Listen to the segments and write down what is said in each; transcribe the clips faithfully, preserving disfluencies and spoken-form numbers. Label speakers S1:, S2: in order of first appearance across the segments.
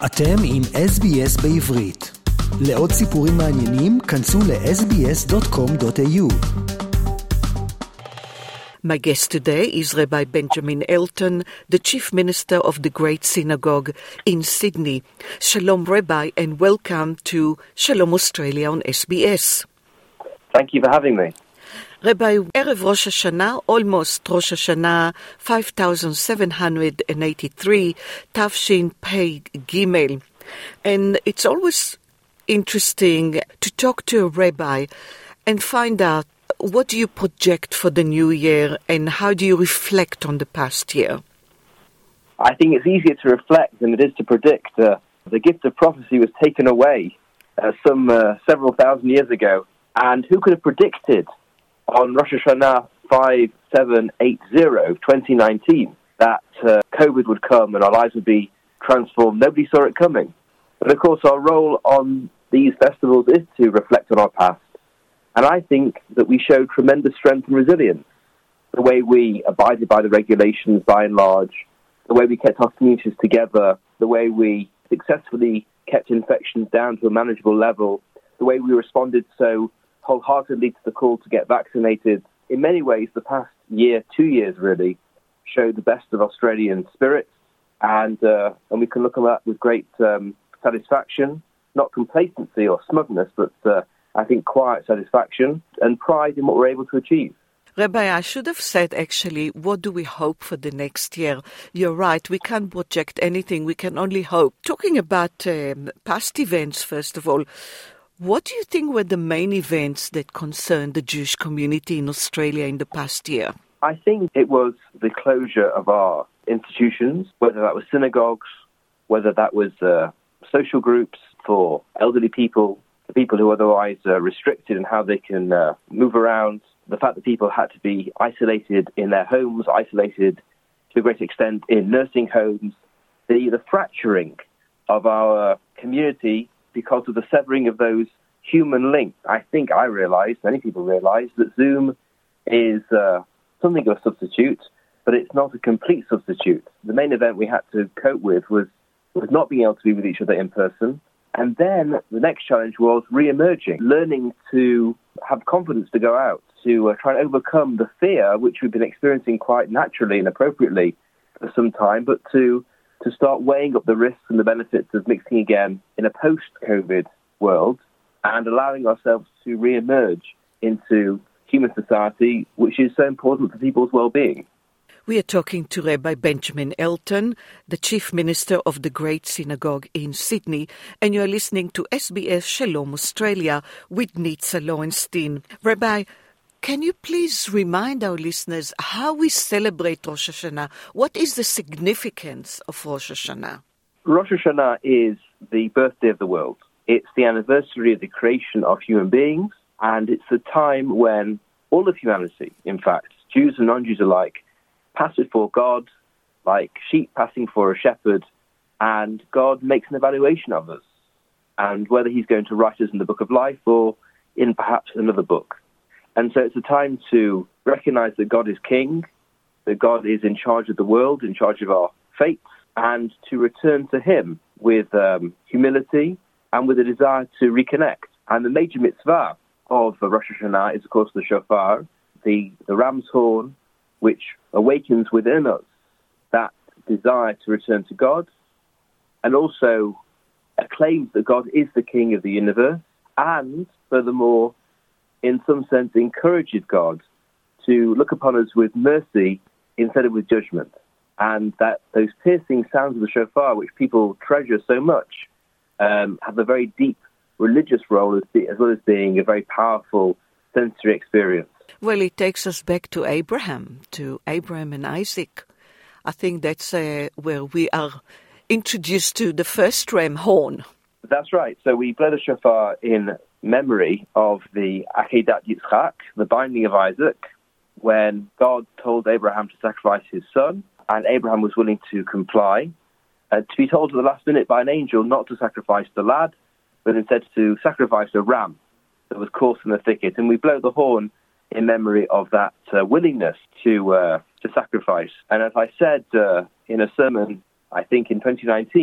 S1: אתם עם אס בי אס בעברית. לעוד סיפורים מעניינים, כנסו ל-אס בי אס דוט קום דוט איי יו.
S2: My guest today is Rabbi Benjamin Elton, the Chief Minister of the Great Synagogue in Sydney. Shalom, Rabbi, and welcome to Shalom Australia on S B S.
S3: Thank you for having me.
S2: Rabbi, Erev Rosh Hashanah, almost Rosh Hashanah five thousand seven hundred eighty-three, Tafshin Pei Gimel. And it's always interesting to talk to a rabbi and find out what do you project for the new year and how do you reflect on the past year?
S3: I think it's easier to reflect than it is to predict. Uh, the gift of prophecy was taken away uh, some uh, several thousand years ago. And who could have predicted on Rosh Hashanah five seven eight zero, twenty nineteen, that uh, COVID would come and our lives would be transformed? Nobody saw it coming. But of course our role on these festivals is to reflect on our past. And I think that we showed tremendous strength and resilience. The way we abided by the regulations by and large, the way we kept our communities together, the way we successfully kept infections down to a manageable level, the way we responded so wholeheartedly to the call to get vaccinated. In many ways, the past year, two years really, showed the best of Australian spirit, and uh, and we can look at that with great um, satisfaction, not complacency or smugness, but uh, I think quiet satisfaction and pride in what we're able to achieve.
S2: Rabbi, I should have said actually, what do we hope for the next year? You're right, we can't project anything, we can only hope. Talking about um, past events, first of all, what do you think were the main events that concerned the Jewish community in Australia in the past year?
S3: I think it was the closure of our institutions, whether that was synagogues, whether that was uh, social groups for elderly people, the people who are otherwise uh, restricted in how they can uh, move around, the fact that people had to be isolated in their homes, isolated to a great extent in nursing homes, the, the fracturing of our community because of the severing of those human links. I think I realised, many people realised, that Zoom is uh, something of a substitute, but it's not a complete substitute. The main event we had to cope with was, was not being able to be with each other in person. And then the next challenge was re-emerging, learning to have confidence to go out, to uh, try and overcome the fear which we've been experiencing quite naturally and appropriately for some time, but to to start weighing up the risks and the benefits of mixing again in a post-COVID world and allowing ourselves to re-emerge into human society, which is so important for people's well-being.
S2: We are talking to Rabbi Benjamin Elton, the Chief Minister of the Great Synagogue in Sydney, and you are listening to S B S Shalom Australia with Nitza Lowenstein. Rabbi, can you please remind our listeners how we celebrate Rosh Hashanah? What is the significance of Rosh Hashanah?
S3: Rosh Hashanah is the birthday of the world. It's the anniversary of the creation of human beings, and it's the time when all of humanity, in fact, Jews and non-Jews alike, pass before God like sheep passing for a shepherd, and God makes an evaluation of us, and whether he's going to write us in the book of life or in perhaps another book. And so it's a time to recognize that God is king, that God is in charge of the world, in charge of our fates, and to return to him with um, humility and with a desire to reconnect. And the major mitzvah of Rosh Hashanah is, of course, the shofar, the, the ram's horn, which awakens within us that desire to return to God, and also acclaims that God is the king of the universe, and furthermore, in some sense, encourages God to look upon us with mercy instead of with judgment. And that those piercing sounds of the shofar, which people treasure so much, um, have a very deep religious role as, as well as being a very powerful sensory experience.
S2: Well, it takes us back to Abraham, to Abraham and Isaac. I think that's uh, where we are introduced to the first ram horn.
S3: That's right. So we blow the shofar in memory of the Akedat Yitzchak, the binding of Isaac, when God told Abraham to sacrifice his son, and Abraham was willing to comply, uh, to be told at the last minute by an angel not to sacrifice the lad, but instead to sacrifice a ram that was caught in the thicket. And we blow the horn in memory of that uh, willingness to uh, to sacrifice. And as I said uh, in a sermon, I think in twenty nineteen,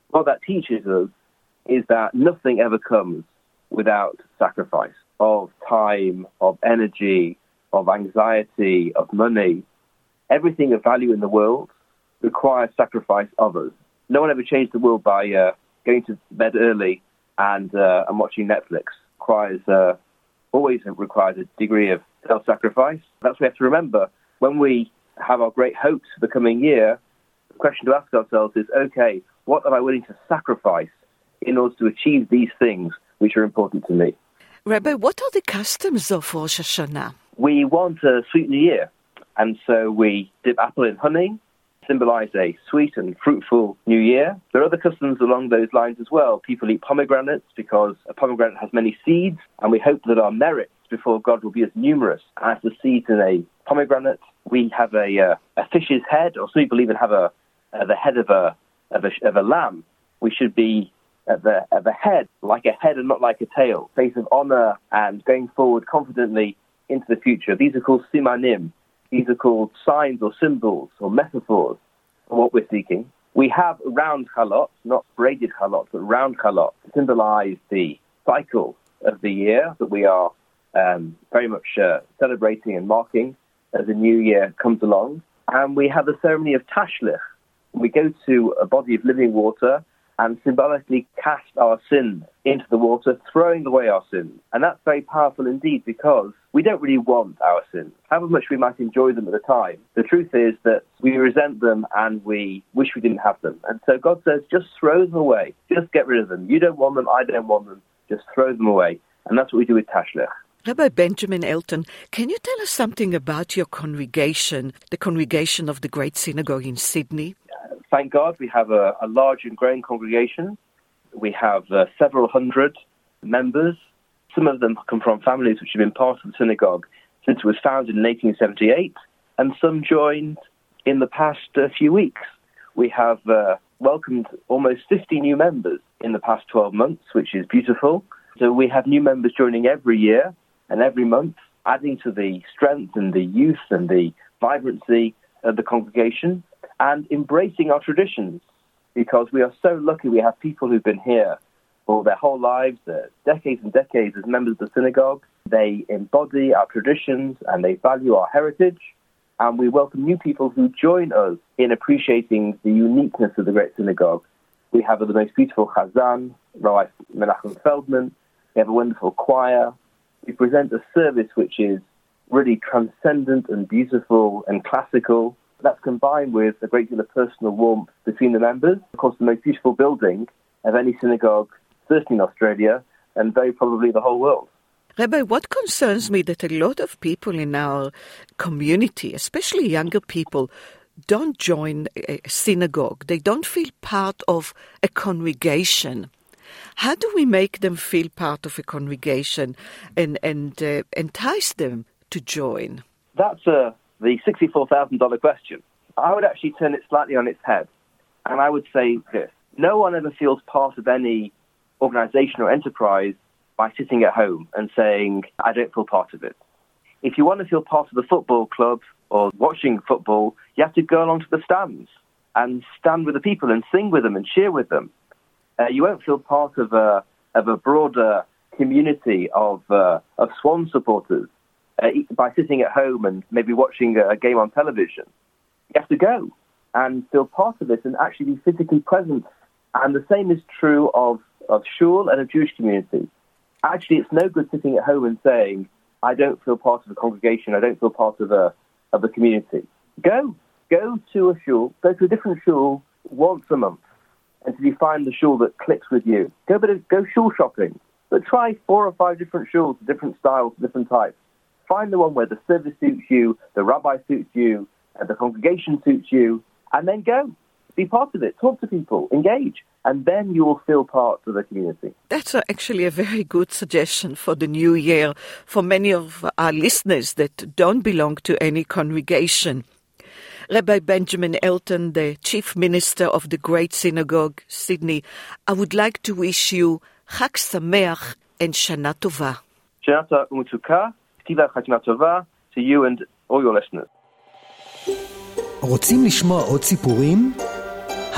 S3: What that teaches us is that nothing ever comes without sacrifice of time, of energy, of anxiety, of money. Everything of value in the world requires sacrifice of us. No one ever changed the world by uh, going to bed early and uh, and watching Netflix. Requires uh, always requires a degree of self-sacrifice. That's what we have to remember when we have our great hopes for the coming year. The question to ask ourselves is, okay, what am I willing to sacrifice in order to achieve these things which are important to me?
S2: Rabbi, what are the customs of Rosh Hashanah?
S3: We want a sweet new year, and so we dip apple in honey, symbolize a sweet and fruitful new year. There are other customs along those lines as well. People eat pomegranates because a pomegranate has many seeds, and we hope that our merits before God will be as numerous as the seeds in a pomegranate. We have a, uh, a fish's head, or some people even have a uh, the head of a, of a of a lamb. We should be at the at the head, like a head and not like a tail, face of honor and going forward confidently into the future. These are called simanim. These are called signs or symbols or metaphors for what we're seeking. We have round chalot, not braided chalot, but round chalot, to symbolize the cycle of the year that we are um, very much uh, celebrating and marking as the new year comes along. And we have the ceremony of tashlich. We go to a body of living water and symbolically cast our sins into the water, throwing away our sins. And that's very powerful indeed, because we don't really want our sins. However much we might enjoy them at the time, the truth is that we resent them and we wish we didn't have them. And so God says, just throw them away. Just get rid of them. You don't want them, I don't want them. Just throw them away. And that's what we do with Tashlich.
S2: Rabbi Benjamin Elton, can you tell us something about your congregation, the congregation of the Great Synagogue in Sydney?
S3: Uh, thank God we have a, a large and growing congregation. We have uh, several hundred members. Some of them come from families which have been part of the synagogue since it was founded in eighteen seventy-eight, and some joined in the past uh, few weeks. We have uh, welcomed almost fifty new members in the past twelve months, which is beautiful. So we have new members joining every year and every month, adding to the strength and the youth and the vibrancy of the congregation, and embracing our traditions, because we are so lucky we have people who've been here for their whole lives, uh, decades and decades as members of the synagogue. They embody our traditions and they value our heritage, and we welcome new people who join us in appreciating the uniqueness of the Great Synagogue. We have the most beautiful Chazan, Rabbi Menachem Feldman. We have a wonderful choir. We present a service which is really transcendent and beautiful and classical. That's combined with a great deal of personal warmth between the members. Of course, the most beautiful building of any synagogue, certainly in Australia, and very probably the whole world.
S2: Rabbi, what concerns me that a lot of people in our community, especially younger people, don't join a synagogue. They don't feel part of a congregation. How do we make them feel part of a congregation and, and uh, entice them to join?
S3: That's uh, the sixty-four thousand dollars question. I would actually turn it slightly on its head, and I would say this. No one ever feels part of any organization or enterprise by sitting at home and saying, I don't feel part of it. If you want to feel part of the football club or watching football, you have to go along to the stands and stand with the people and sing with them and cheer with them. Uh, you won't feel part of a of a broader community of uh, of Swan supporters uh, by sitting at home and maybe watching a game on television. You have to go and feel part of it and actually be physically present. And the same is true of, of shul and a Jewish community. Actually, it's no good sitting at home and saying, I don't feel part of a congregation, I don't feel part of a of a community. Go. Go to a shul, go to a different shul once a month until you find the shul that clicks with you. Go, but go shul shopping, but try four or five different shuls, different styles, different types. Find the one where the service suits you, the rabbi suits you, and the congregation suits you, and then go. Be part of it. Talk to people. Engage. And then you will feel part of the community.
S2: That's actually a very good suggestion for the new year for many of our listeners that don't belong to any congregation. Rabbi Benjamin Elton, the Chief Minister of the Great Synagogue, Sydney, I would like to wish you Chag Sameach and Shana Tova.
S3: Shana Tova u'Metuka, Ktiva Chag Tova to you and all your listeners.
S1: רוצים לשמוע עוד סיפורים?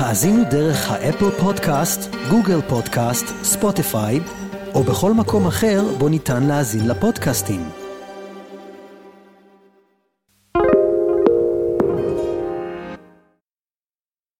S1: האזינו דרך האפל פודקאסט, גוגל פודקאסט, ספוטיפיי, או בכל מקום אחר בו ניתן להאזין לפודקאסטים.